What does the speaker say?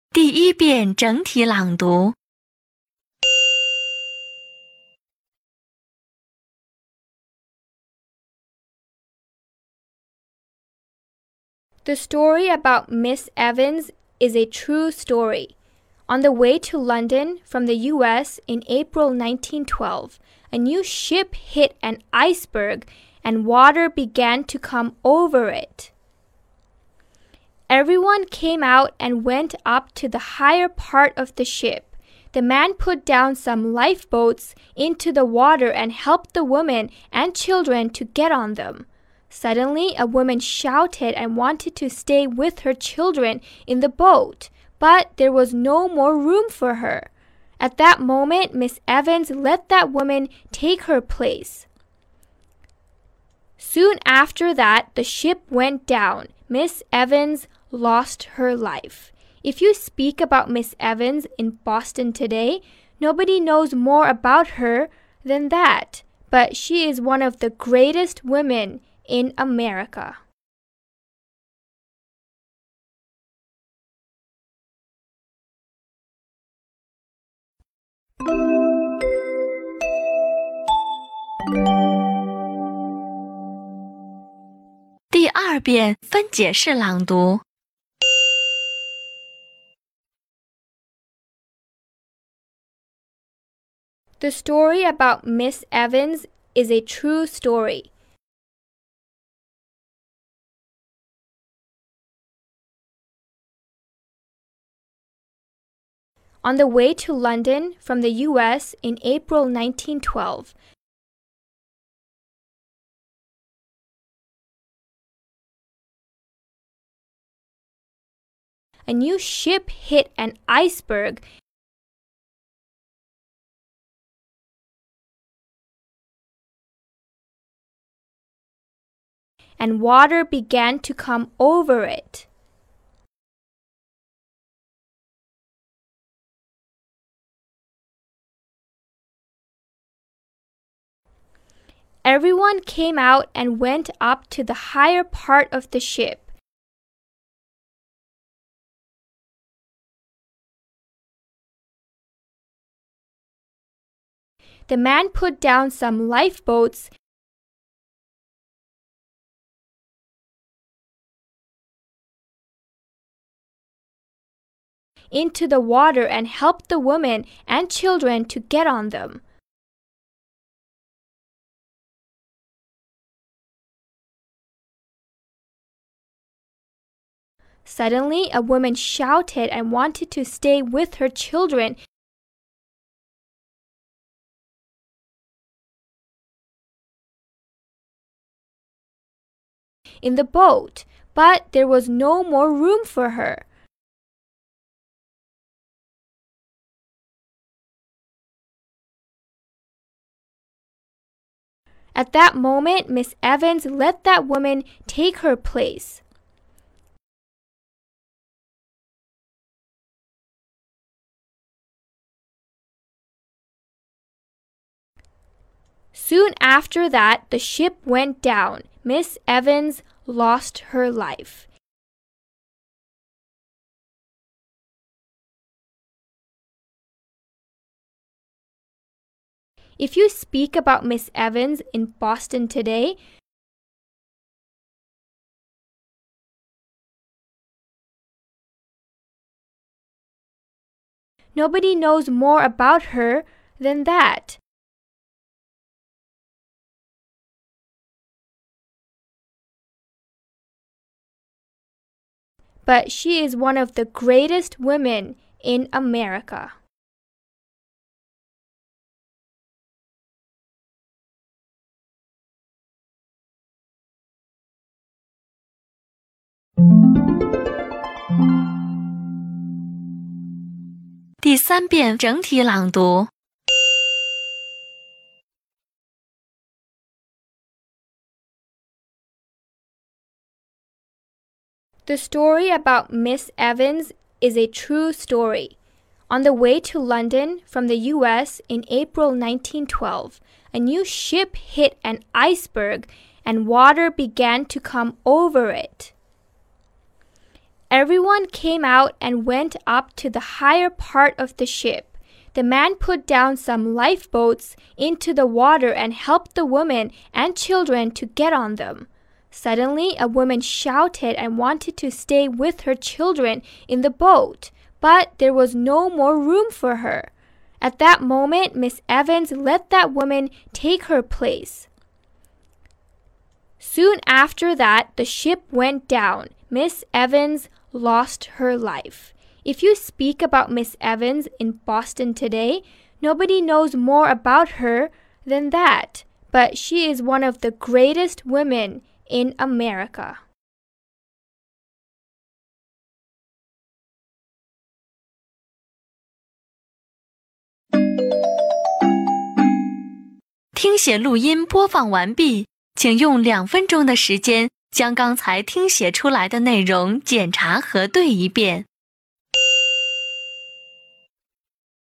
第一遍整体朗读。 The story about Miss Evans is a true story. On the way to London from the U.S. in April 1912, a new ship hit an iceberg and water began to come over it. Everyone came out and went up to the higher part of the ship. The man put down some lifeboats into the water and helped the women and children to get on them. Suddenly, a woman shouted and wanted to stay with her children in the boat, but there was no more room for her. At that moment, Miss Evans let that woman take her place. Soon after that, the ship went down. Miss Evans lost her life. If you speak about Miss Evans in Boston today, nobody knows more about her than that, but she is one of the greatest women in America. 第二遍分解式朗读。 The story about Miss Evans is a true story. On the way to London from the U.S. in April 1912, a new ship hit an iceberg and water began to come over it. Everyone came out and went up to the higher part of the ship. The man put down some lifeboats into the water and helped the women and children to get on them. Suddenly, a woman shouted and wanted to stay with her children in the boat, but there was no more room for her. At that moment, Miss Evans let that woman take her place. Soon after that, the ship went down. Miss Evans lost her life. If you speak about Miss Evans in Boston today, nobody knows more about her than that. But she is one of the greatest women in America. 第三遍整体朗读。 The story about Miss Evans is a true story. On the way to London from the U.S. in April 1912, a new ship hit an iceberg and water began to come over it. Everyone came out and went up to the higher part of the ship. The man put down some lifeboats into the water and helped the women and children to get on them. Suddenly, a woman shouted and wanted to stay with her children in the boat, but there was no more room for her. At that moment, Miss Evans let that woman take her place. Soon after that, the ship went down. Miss Evans lost her life. If you speak about Miss Evans in Boston today, nobody knows more about her than that, but she is one of the greatest women in America. 听写录音播放完毕，请用2分钟的时间将刚才听写出来的内容检查核对一遍。